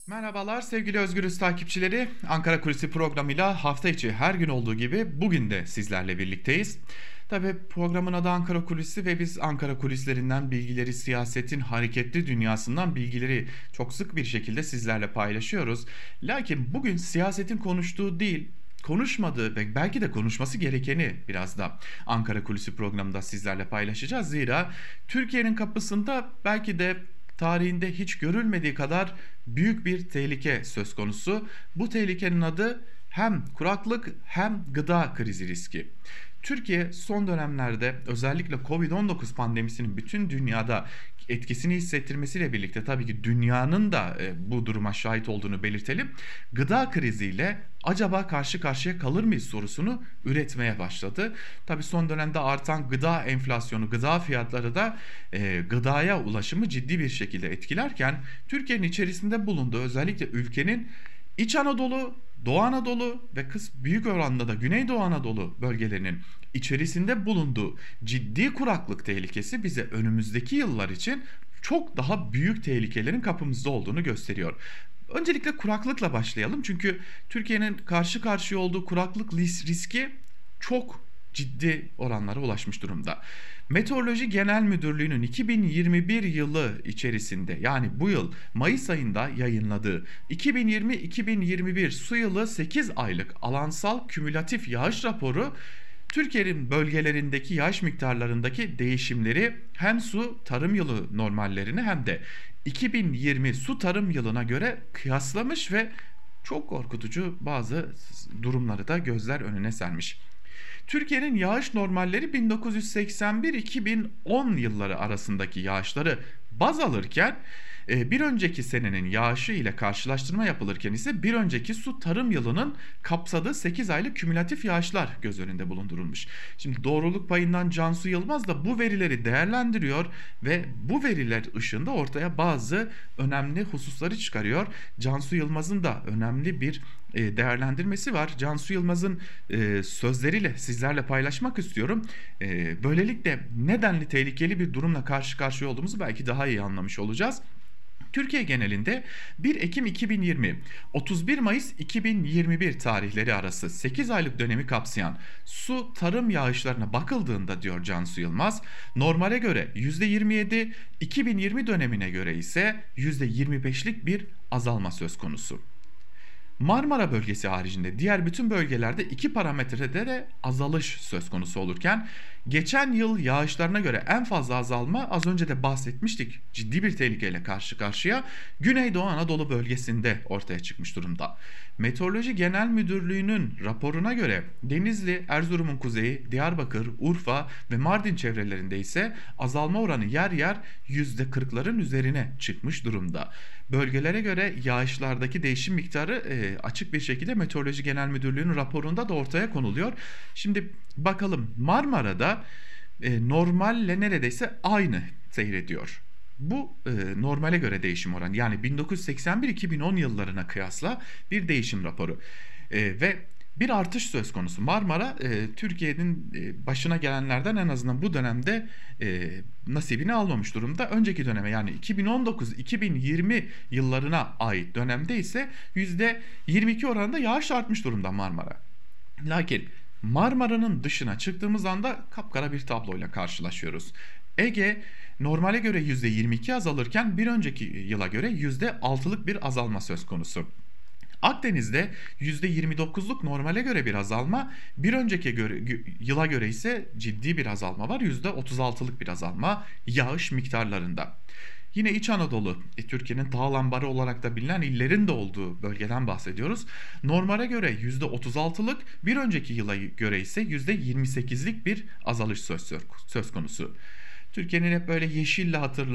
Merhabalar sevgili Özgürüz takipçileri. Ankara Kulisi programıyla hafta içi her gün olduğu gibi bugün de sizlerle birlikteyiz. Tabi programın adı Ankara Kulisi ve biz Ankara kulislerinden bilgileri, siyasetin hareketli dünyasından bilgileri çok sık bir şekilde sizlerle paylaşıyoruz. Lakin bugün siyasetin konuştuğu değil, konuşmadığı ve belki de konuşması gerekeni biraz da Ankara Kulisi programında sizlerle paylaşacağız. Zira Türkiye'nin kapısında belki de tarihinde hiç görülmediği kadar büyük bir tehlike söz konusu. Bu tehlikenin adı hem kuraklık hem gıda krizi riski. Türkiye son dönemlerde özellikle Covid-19 pandemisinin bütün dünyada etkisini hissettirmesiyle birlikte tabii ki dünyanın da bu duruma şahit olduğunu belirtelim. Gıda kriziyle acaba karşı karşıya kalır mıyız sorusunu üretmeye başladı. Tabii son dönemde artan gıda enflasyonu, gıda fiyatları da gıdaya ulaşımı ciddi bir şekilde etkilerken Türkiye'nin içerisinde bulunduğu özellikle ülkenin İç Anadolu, Doğu Anadolu ve büyük oranda da Güneydoğu Anadolu bölgelerinin içerisinde bulunduğu ciddi kuraklık tehlikesi bize önümüzdeki yıllar için çok daha büyük tehlikelerin kapımızda olduğunu gösteriyor. Öncelikle kuraklıkla başlayalım. Çünkü Türkiye'nin karşı karşıya olduğu kuraklık riski çok ciddi oranlara ulaşmış durumda. Meteoroloji Genel Müdürlüğü'nün 2021 yılı içerisinde yani bu yıl Mayıs ayında yayınladığı 2020-2021 su yılı 8 aylık alansal kümülatif yağış raporu Türkiye'nin bölgelerindeki yağış miktarlarındaki değişimleri hem su tarım yılı normallerini hem de 2020 su tarım yılına göre kıyaslamış ve çok korkutucu bazı durumları da gözler önüne sermiş. Türkiye'nin yağış normalleri 1981-2010 yılları arasındaki yağışları baz alırken bir önceki senenin yağışı ile karşılaştırma yapılırken ise bir önceki su tarım yılının kapsadığı 8 aylık kümülatif yağışlar göz önünde bulundurulmuş. Şimdi doğruluk payından Cansu Yılmaz da bu verileri değerlendiriyor ve bu veriler ışığında ortaya bazı önemli hususları çıkarıyor. Cansu Yılmaz'ın da önemli bir değerlendirmesi var. Cansu Yılmaz'ın sözleriyle sizlerle paylaşmak istiyorum. Böylelikle nedenli tehlikeli bir durumla karşı karşıya olduğumuzu belki daha iyi anlamış olacağız. Türkiye genelinde 1 Ekim 2020 31 Mayıs 2021 tarihleri arası 8 aylık dönemi kapsayan su tarım yağışlarına bakıldığında diyor Cansu Yılmaz, normale göre %27, 2020 dönemine göre ise %25'lik bir azalma söz konusu. Marmara bölgesi haricinde diğer bütün bölgelerde iki parametrede de azalış söz konusu olurken geçen yıl yağışlarına göre en fazla azalma az önce de bahsetmiştik ciddi bir tehlikeyle karşı karşıya Güneydoğu Anadolu bölgesinde ortaya çıkmış durumda. Meteoroloji Genel Müdürlüğü'nün raporuna göre Denizli, Erzurum'un kuzeyi, Diyarbakır, Urfa ve Mardin çevrelerinde ise azalma oranı yer yer %40'ların üzerine çıkmış durumda. Bölgelere göre yağışlardaki değişim miktarı açık bir şekilde Meteoroloji Genel Müdürlüğü'nün raporunda da ortaya konuluyor. Şimdi bakalım Marmara'da normalle neredeyse aynı seyrediyor. Bu normale göre değişim oranı yani 1981-2010 yıllarına kıyasla bir değişim raporu. Ve bir artış söz konusu. Marmara Türkiye'nin başına gelenlerden en azından bu dönemde nasibini almamış durumda. Önceki döneme yani 2019-2020 yıllarına ait dönemde ise %22 oranında yağış artmış durumda Marmara. Lakin Marmara'nın dışına çıktığımız anda kapkara bir tabloyla karşılaşıyoruz. Ege normale göre %22 azalırken bir önceki yıla göre %6'lık bir azalma söz konusu. Akdeniz'de %29'luk normale göre bir azalma, bir önceki yıla göre ise ciddi bir azalma var. %36'lık bir azalma yağış miktarlarında. Yine İç Anadolu, Türkiye'nin dağ lambarı olarak da bilinen illerin de olduğu bölgeden bahsediyoruz. Normale göre %36'lık, bir önceki yıla göre ise %28'lik bir azalış söz konusu. Türkiye'nin hep böyle yeşille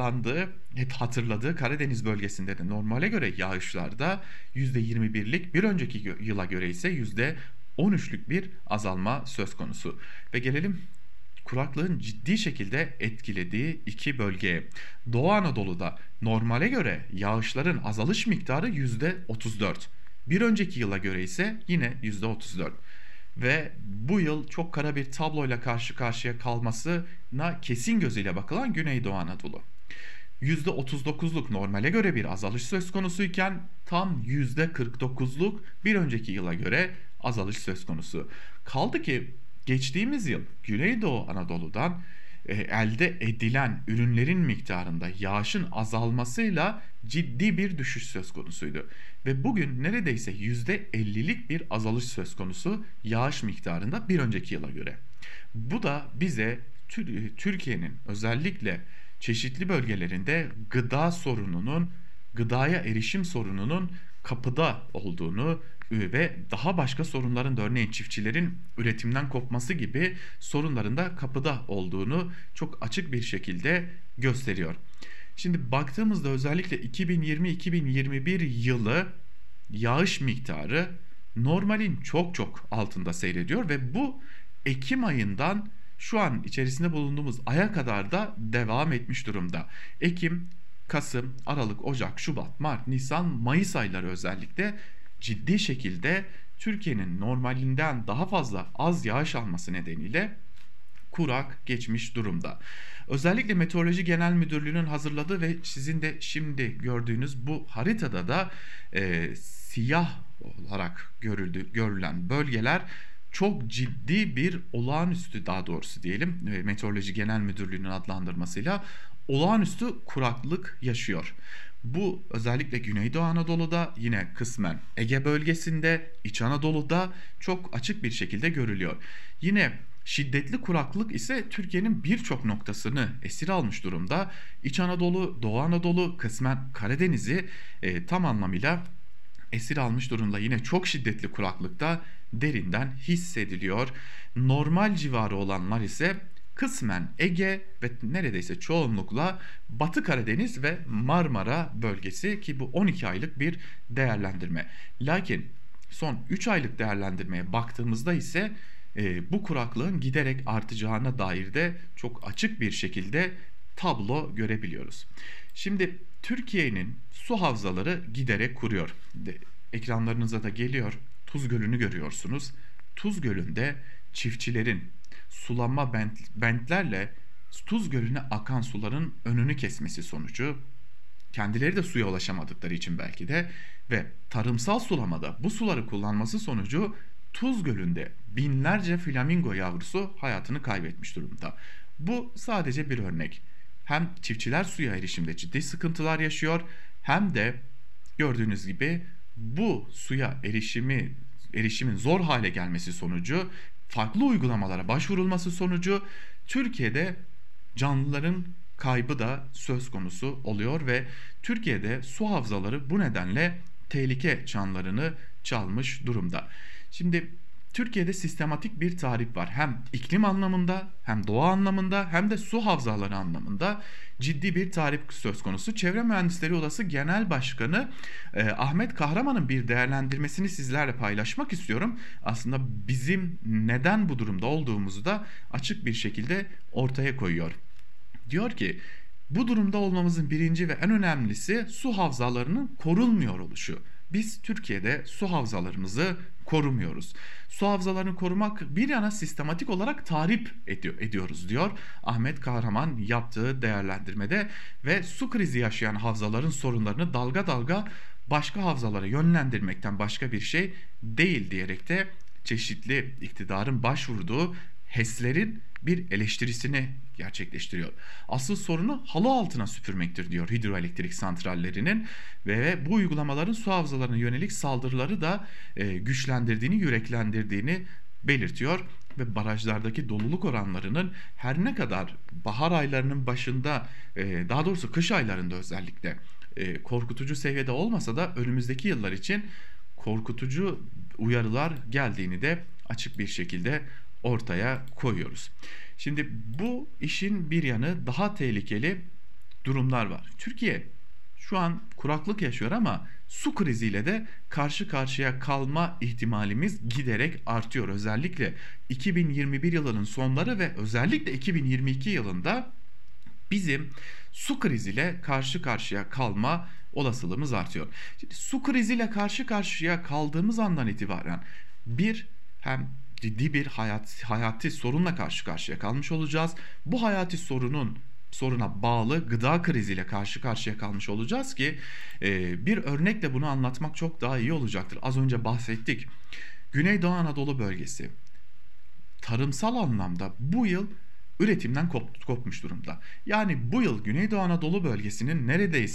hep hatırladığı Karadeniz bölgesinde de normale göre yağışlarda %21'lik, bir önceki yıla göre ise %13'lük bir azalma söz konusu. Ve gelelim kuraklığın ciddi şekilde etkilediği iki bölgeye. Doğu Anadolu'da normale göre yağışların azalış miktarı %34. Bir önceki yıla göre ise yine %34. Ve bu yıl çok kara bir tabloyla karşı karşıya kalmasına kesin gözüyle bakılan Güneydoğu Anadolu. %39'luk normale göre bir azalış söz konusuyken tam %49'luk bir önceki yıla göre azalış söz konusu. Kaldı ki geçtiğimiz yıl Güneydoğu Anadolu'dan elde edilen ürünlerin miktarında yağışın azalmasıyla ciddi bir düşüş söz konusuydu. Ve bugün neredeyse %50'lik bir azalış söz konusu yağış miktarında bir önceki yıla göre. Bu da bize Türkiye'nin özellikle çeşitli bölgelerinde gıdaya erişim sorununun kapıda olduğunu ve daha başka sorunların da örneğin çiftçilerin üretimden kopması gibi sorunların da kapıda olduğunu çok açık bir şekilde gösteriyor. Şimdi baktığımızda özellikle 2020-2021 yılı yağış miktarı normalin çok çok altında seyrediyor ve bu Ekim ayından şu an içerisinde bulunduğumuz aya kadar da devam etmiş durumda. Ekim, Kasım, Aralık, Ocak, Şubat, Mart, Nisan, Mayıs ayları özellikle ciddi şekilde Türkiye'nin normalinden daha fazla az yağış alması nedeniyle kurak geçmiş durumda. Özellikle Meteoroloji Genel Müdürlüğü'nün hazırladığı ve sizin de şimdi gördüğünüz bu haritada da siyah olarak görülen bölgeler çok ciddi bir olağanüstü, daha doğrusu diyelim Meteoroloji Genel Müdürlüğü'nün adlandırmasıyla olağanüstü kuraklık yaşıyor. Bu özellikle Güneydoğu Anadolu'da, yine kısmen Ege bölgesinde, İç Anadolu'da çok açık bir şekilde görülüyor. Yine şiddetli kuraklık ise Türkiye'nin birçok noktasını esir almış durumda. İç Anadolu, Doğu Anadolu, kısmen Karadeniz'i tam anlamıyla esir almış durumda. Yine çok şiddetli kuraklıkta derinden hissediliyor. Normal civarı olanlar ise kısmen Ege ve neredeyse çoğunlukla Batı Karadeniz ve Marmara bölgesi, ki bu 12 aylık bir değerlendirme. Lakin son 3 aylık değerlendirmeye baktığımızda ise bu kuraklığın giderek artacağına dair de çok açık bir şekilde tablo görebiliyoruz. Şimdi Türkiye'nin su havzaları giderek kuruyor. Ekranlarınıza da geliyor. Tuz Gölü'nü görüyorsunuz. Tuz Gölü'nde çiftçilerin sulama bentlerle Tuz Gölü'ne akan suların önünü kesmesi sonucu, kendileri de suya ulaşamadıkları için belki de ve tarımsal sulamada bu suları kullanması sonucu Tuz Gölü'nde binlerce flamingo yavrusu hayatını kaybetmiş durumda. Bu sadece bir örnek. Hem çiftçiler suya erişimde ciddi sıkıntılar yaşıyor, hem de gördüğünüz gibi bu suya erişimin zor hale gelmesi sonucu, farklı uygulamalara başvurulması sonucu Türkiye'de canlıların kaybı da söz konusu oluyor ve Türkiye'de su havzaları bu nedenle tehlike çanlarını çalmış durumda. Şimdi Türkiye'de sistematik bir tahrip var. Hem iklim anlamında, hem doğa anlamında, hem de su havzaları anlamında ciddi bir tahrip söz konusu. Çevre Mühendisleri Odası Genel Başkanı Ahmet Kahraman'ın bir değerlendirmesini sizlerle paylaşmak istiyorum. Aslında bizim neden bu durumda olduğumuzu da açık bir şekilde ortaya koyuyor. Diyor ki, bu durumda olmamızın birinci ve en önemlisi su havzalarının korunmuyor oluşu. Biz Türkiye'de su havzalarımızı korumuyoruz. Su havzalarını korumak bir yana sistematik olarak tahrip ediyoruz diyor Ahmet Kahraman yaptığı değerlendirmede ve su krizi yaşayan havzaların sorunlarını dalga dalga başka havzalara yönlendirmekten başka bir şey değil diyerek de çeşitli iktidarın başvurduğu HES'lerin bir eleştirisini gerçekleştiriyor. Asıl sorunu halı altına süpürmektir diyor hidroelektrik santrallerinin ve bu uygulamaların su havzalarına yönelik saldırıları da güçlendirdiğini, yüreklendirdiğini belirtiyor ve barajlardaki doluluk oranlarının her ne kadar bahar aylarının başında, daha doğrusu kış aylarında özellikle korkutucu seviyede olmasa da önümüzdeki yıllar için korkutucu uyarılar geldiğini de açık bir şekilde ortaya koyuyoruz. Şimdi bu işin bir yanı, daha tehlikeli durumlar var. Türkiye şu an kuraklık yaşıyor ama su kriziyle de karşı karşıya kalma ihtimalimiz giderek artıyor. Özellikle 2021 yılının sonları ve özellikle 2022 yılında bizim su kriziyle karşı karşıya kalma olasılığımız artıyor. Şimdi su kriziyle karşı karşıya kaldığımız andan itibaren hem ciddi bir hayati sorunla karşı karşıya kalmış olacağız. Bu hayati sorunun soruna bağlı gıda kriziyle karşı karşıya kalmış olacağız ki bir örnekle bunu anlatmak çok daha iyi olacaktır. Az önce bahsettik. Güneydoğu Anadolu bölgesi tarımsal anlamda bu yıl üretimden kopmuş durumda. Yani bu yıl Güneydoğu Anadolu bölgesinin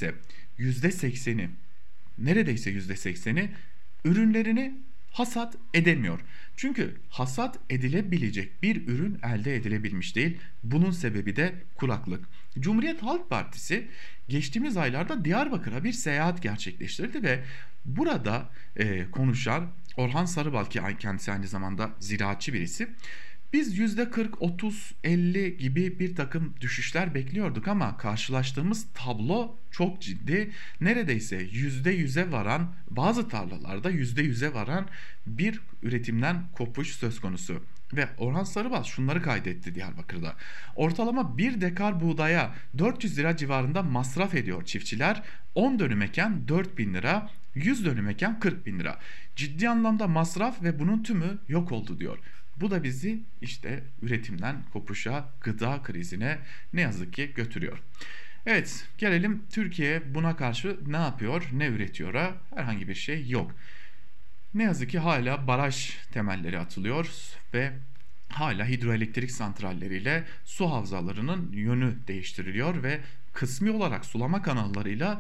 %80'i neredeyse %80'i ürünlerini hasat edemiyor. Çünkü hasat edilebilecek bir ürün elde edilebilmiş değil. Bunun sebebi de kuraklık. Cumhuriyet Halk Partisi geçtiğimiz aylarda Diyarbakır'a bir seyahat gerçekleştirdi ve burada konuşan Orhan Sarıbal, ki kendisi aynı zamanda ziraatçı birisi, biz %40, 30, 50 gibi bir takım düşüşler bekliyorduk ama karşılaştığımız tablo çok ciddi. Neredeyse %100'e varan, bazı tarlalarda %100'e varan bir üretimden kopuş söz konusu. Ve Orhan Sarıbal şunları kaydetti Diyarbakır'da. Ortalama 1 dekar buğdaya 400 lira civarında masraf ediyor çiftçiler. 10 dönüm eken 4.000 lira, 100 dönüm eken 40.000 lira. Ciddi anlamda masraf ve bunun tümü yok oldu diyor. Bu da bizi işte üretimden kopuşa, gıda krizine ne yazık ki götürüyor. Evet, gelelim Türkiye buna karşı ne yapıyor, ne üretiyor? Herhangi bir şey yok. Ne yazık ki hala baraj temelleri atılıyor ve hala hidroelektrik santralleriyle su havzalarının yönü değiştiriliyor ve kısmi olarak sulama kanallarıyla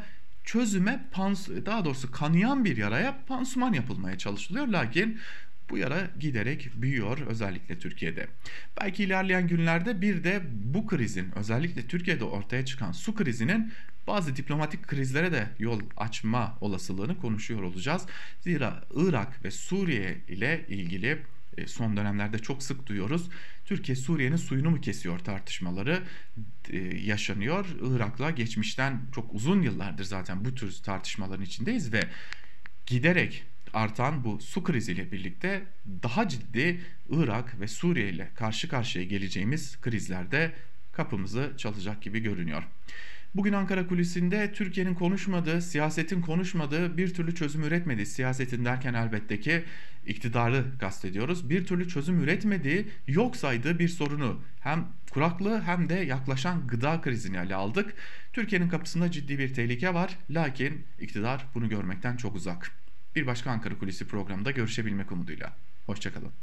daha doğrusu kanayan bir yaraya pansuman yapılmaya çalışılıyor. Lakin bu yara giderek büyüyor, özellikle Türkiye'de. Belki ilerleyen günlerde bir de bu krizin, özellikle Türkiye'de ortaya çıkan su krizinin bazı diplomatik krizlere de yol açma olasılığını konuşuyor olacağız. Zira Irak ve Suriye ile ilgili son dönemlerde çok sık duyuyoruz. Türkiye Suriye'nin suyunu mu kesiyor tartışmaları yaşanıyor. Irak'la geçmişten çok uzun yıllardır zaten bu tür tartışmaların içindeyiz ve giderek artan bu su kriziyle birlikte daha ciddi Irak ve Suriye ile karşı karşıya geleceğimiz krizlerde kapımızı çalacak gibi görünüyor. Bugün Ankara kulisinde Türkiye'nin konuşmadığı, siyasetin konuşmadığı, bir türlü çözüm üretmediği, siyasetin derken elbette ki iktidarı kastediyoruz, bir türlü çözüm üretmediği, yok saydığı bir sorunu, hem kuraklığı hem de yaklaşan gıda krizini ele aldık. Türkiye'nin kapısında ciddi bir tehlike var, lakin iktidar bunu görmekten çok uzak. Bir başka Ankara Kulisi programında görüşebilmek umuduyla. Hoşçakalın.